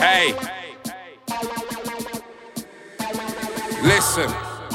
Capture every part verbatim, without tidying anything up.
Hey, listen.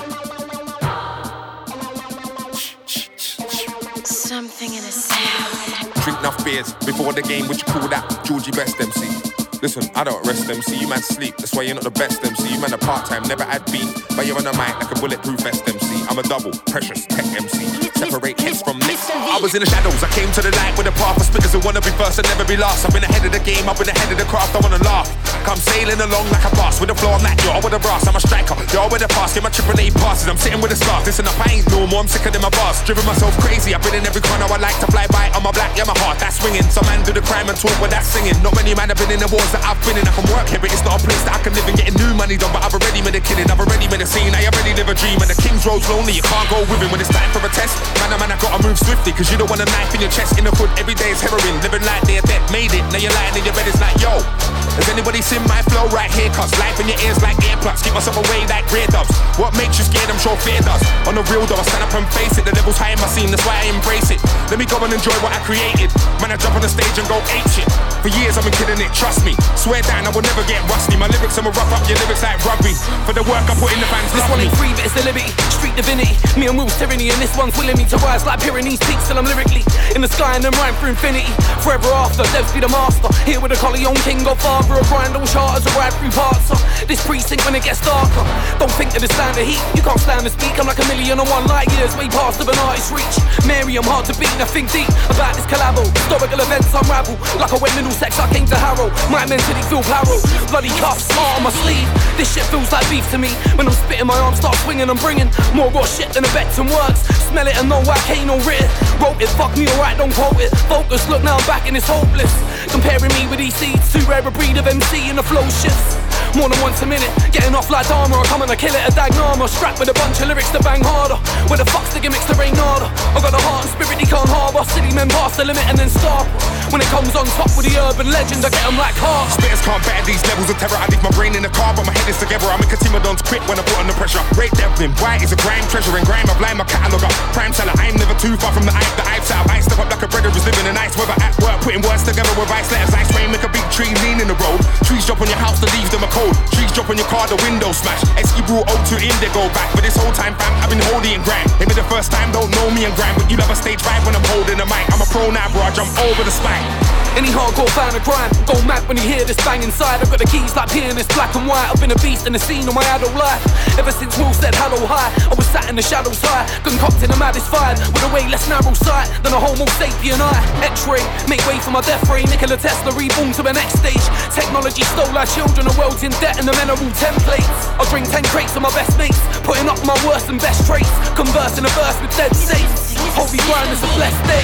Something in a sound. Drink enough beers before the game, what you call that? Georgie Best M C. Listen, I don't rest M C, you man sleep, that's why you're not the best M C. You man a part-time, never had beat, but you're on the mic like a bulletproof vest M C. I'm a double, precious tech M C. Separate heads from lips. I was in the shadows, I came to the light with a path of spitters who wanna be first and never be last. I've been ahead of the game, I've been ahead of the craft, I wanna laugh. Come sailing along like a boss, with the floor I'm that, yo, with the brass, I'm a striker. Yo, with the pass, get my triple A passes, I'm sitting with a scarf. Listen up, I ain't normal, I'm sicker than my boss. Driven myself crazy, I've been in every corner, I like to fly by on my black, yeah, my heart, that's swinging. Some man do the crime and talk, but that's singing. Not many man have been in the wars that I've been in. I can work here, but it's not a place that I can live and getting new money done. But I've already made a killing, I've already made a scene, I already live a dream. And the King's Road's lonely, you can't go with him when it's time for a test. Man, oh man, I gotta move swiftly, cause you don't want a knife in your chest. In the hood, every day is heroin, living like they're dead, made it. Now you're lying in your bed, it's like, yo, has anybody seen my flow right here? Cause life in your ears like earplugs, keep myself away like grey dubs. What makes you scared? I'm sure fear does. On the real though, I stand up and face it. The level's high in my scene, that's why I embrace it. Let me go and enjoy what I created. Man, I jump on the stage and go ape shit. For years I've been killing it, trust me. Swear down, I will never get rusty. My lyrics, I'ma rough up your lyrics like rugby. For the work I put in, the fans This love one me. ain't free, but it's a liberty. Street divinity. Me and Will's tyranny, and this one's willing me to rise like Pyrenees peaks till I'm lyrically in the sky and then rhyme through infinity. Forever after, Devs be the master. Here with a Colleon King, Godfather, a grind on charters, a ride through parts. Uh, this precinct when it gets darker. Don't think that it's stand the heat. You can't stand to speak. I'm like a million and one light years way past of an artist's reach. Mary, I'm hard to beat. Nothing deep about this collabo. Historical events unravel. Like I went middle sex, I came to Harrow. My mentally feel barrel. Bloody cuffs, smart on my sleeve. This shit feels like beef to me. When I'm spitting, my arms start swinging. I'm bringing more raw shit than a Becton works. Smell it and know I can't no writ it. Wrote it, fuck me alright, don't quote it. Focus, look now I'm back and it's hopeless. Comparing me with these seeds, too rare a breed of M C and the flow shifts. More than once a minute, getting off like Dharma. I come and I kill it, a Dagnama. Strapped with a bunch of lyrics to bang harder. Where the fuck's the gimmicks to rain nada? I got a heart and spirit he can't harbour. City men pass the limit and then stop. When it comes on top with the urban legend, I get them like heart. Spitters can't bear these levels of terror. I leave my brain in the car, but my head is together. I make a team of dons quit when I put under pressure. Ray Devlin, white is a grime treasure. And grime, I blind my catalogue up. Prime seller, I'm never too far from the hype that I've set up. I step up like a brother who's living in nice weather at work. Putting words together with ice letters. Ice rain, make a big tree lean in the road. Trees drop on your house, the leaves them are cold. Trees drop on your car, the window smash. Esky brought O two Indigo back. But this whole time, fam, I've been holding in grime. Maybe the first time, don't know me and grime. But you love a stage vibe when I'm holding a mic. I'm a pro now, bro, I jump over the spine. Any hardcore fan of crime, go mad when you hear this bang inside. I've got the keys like pianist, black and white. I've been a beast in the scene of my adult life. Ever since Will said hello high, I was sat in the shadows high, concocting a maddest fire with a way less narrow sight than a homo sapien eye. X-ray, make way for my death ray. Nikola Tesla reborn to the next stage. Technology stole our children, the world's in debt and the men are all templates. I'll drink ten crates of my best mates, putting up my worst and best traits, conversing a verse with dead saints. Holy grind is a blessed day.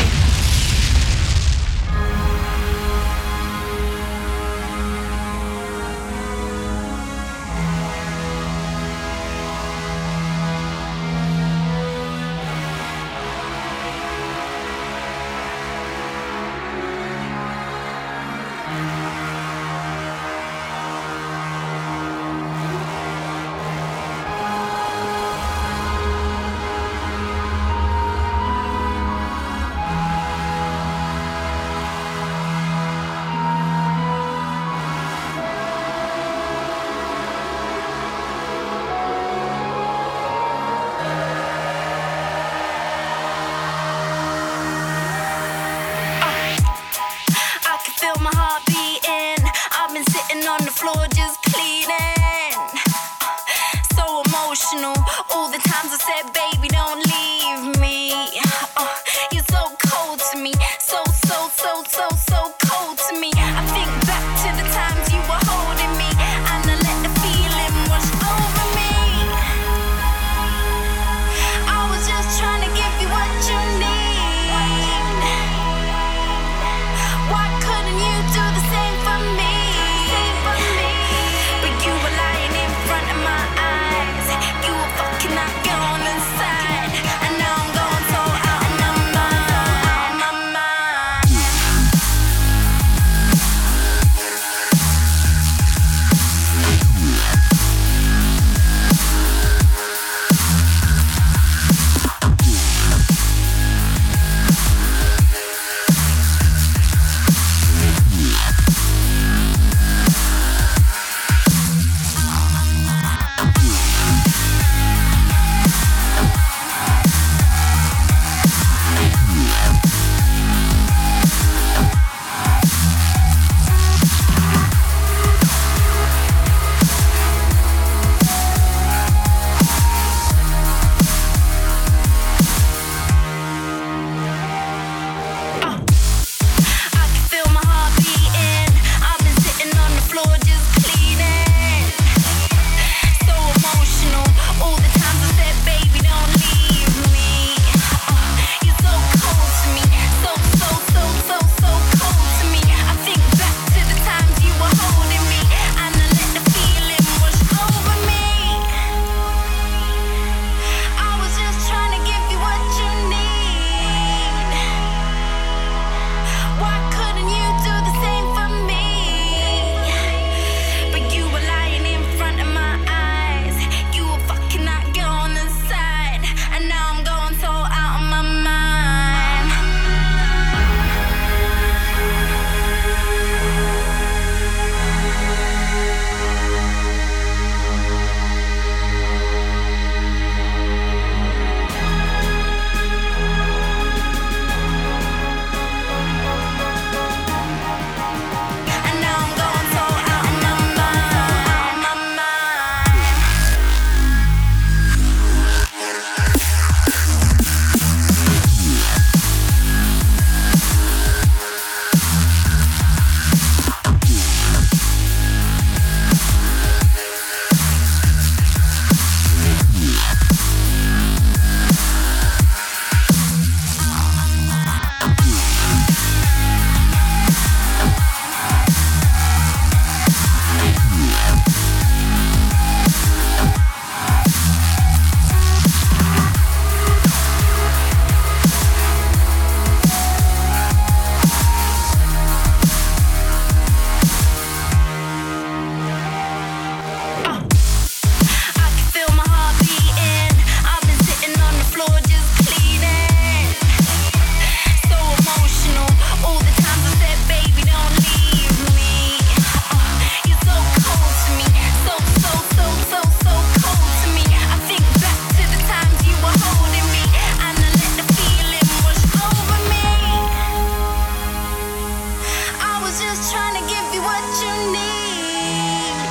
just trying to give you what you need.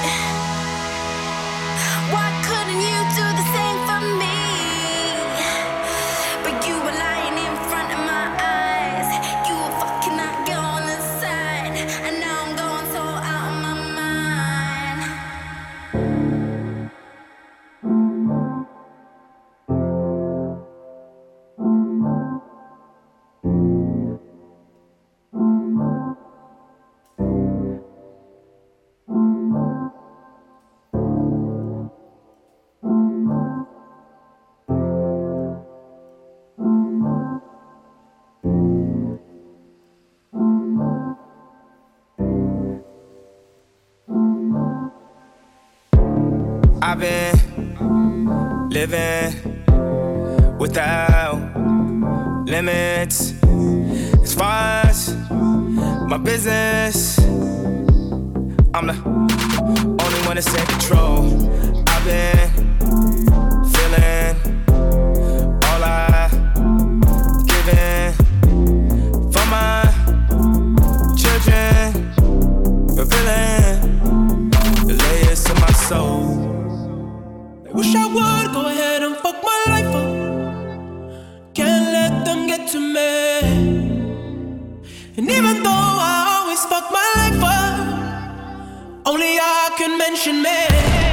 Why couldn't you do the same for me? But you were lying in front of my eyes. You were fucking that girl on the side, and now I'm going so out of my mind. I've been living without limits. As far as my business, I'm the only one that's in control. I've been feeling all I given for my children, revealing the layers to my soul. Wish I would go ahead and fuck my life up. Can't let them get to me. And even though I always fuck my life up, only I can mention me.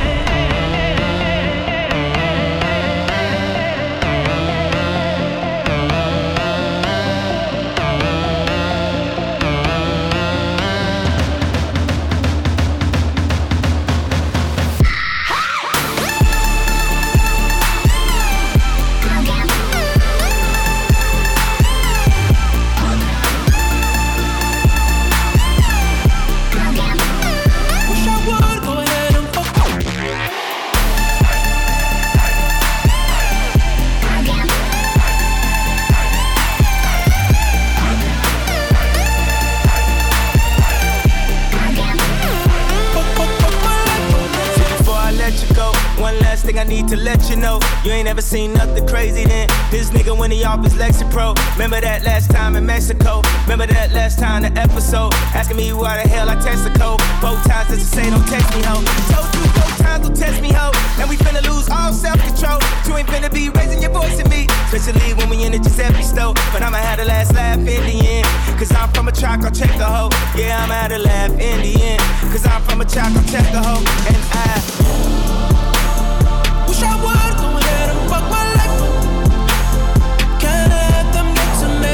I need to let you know, you ain't ever seen nothing crazy than this nigga when he off his Lexapro. Remember that last time in Mexico? Remember that last time the episode? Asking me why the hell I text the code. Both times just to say don't text me, ho. Told you both times don't text me, ho. And we finna lose all self-control. You ain't finna be raising your voice at me, especially when we in the Giuseppe store. But I'ma have the last laugh in the end, cause I'm from a track, I'll check the hoe. Yeah, I'ma have the laugh in the end, cause I'm from a track, I'll check the hoe. And I wish I would go ahead and fuck my life up. Can't let them get to me.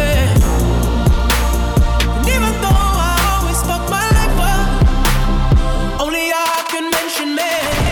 And even though I always fuck my life up, only I can mention me.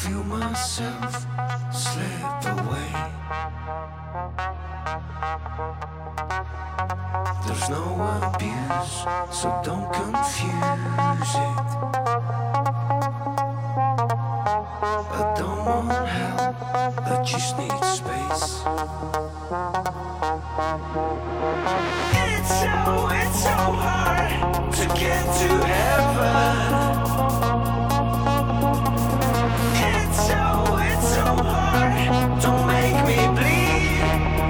feel myself slip away. There's no abuse, so don't confuse it. I don't want help, I just need space. It's so, it's so hard to get to heaven. It's so, it's so hard, don't make me bleed.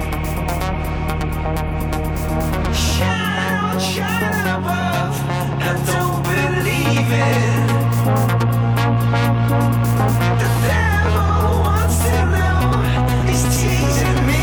Shine on, shine above, I don't believe it. The devil wants to know, he's teasing me.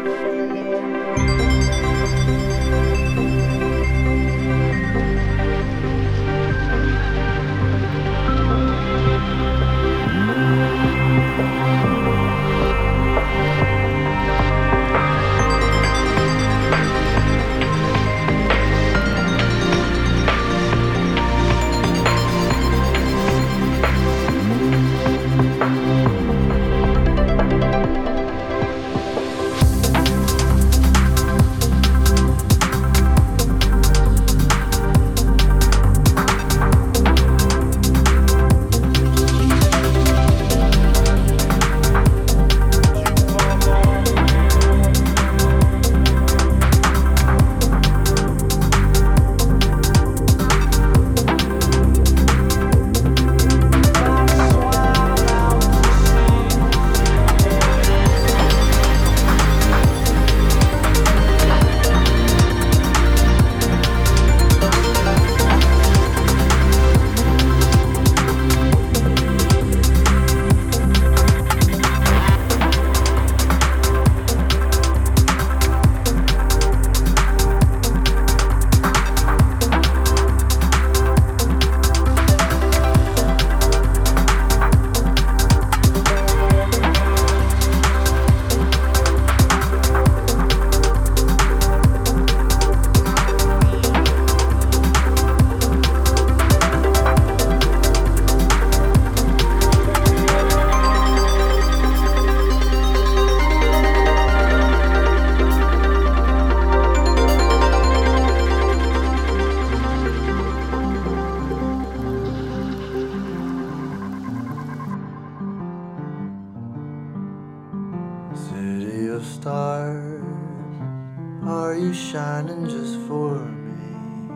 shining just for me.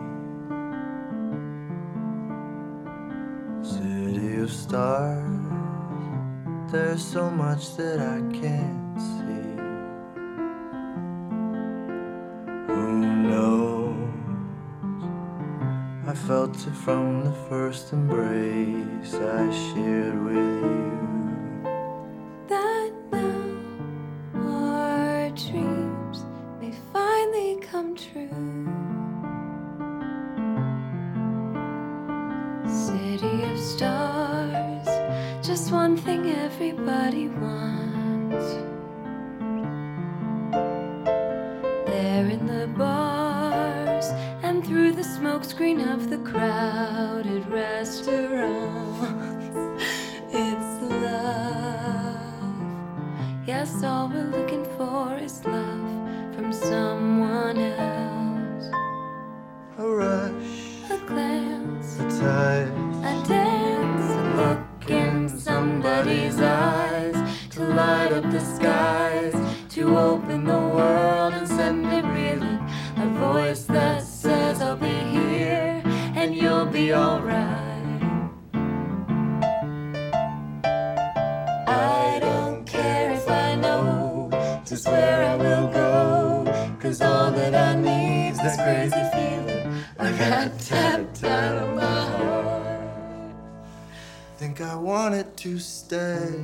City of stars, there's so much that I can't see. Who knows? I felt it from the first embrace I shared with you. That now our dreams may finally come true. City of stars, just one thing everybody wants. There in the bars and through the smokescreen of the crowded restaurants, it's love. Yes, all we're looking for is love from someone else. A rush, A glance, a touch, a dance, a look in somebody's eyes, to light up the skies, to open the world and send it reeling. A voice that says I'll be here and you'll be alright. I don't care if I know just where I will go, 'cause all that I need's this crazy feeling, a rat tapped out of my heart. think I want it to stay.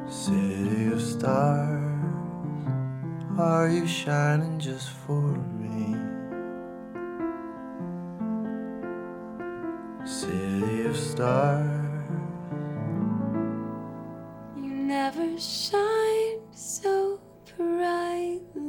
City of stars, are you shining just for me? City of stars, you never shine so brightly.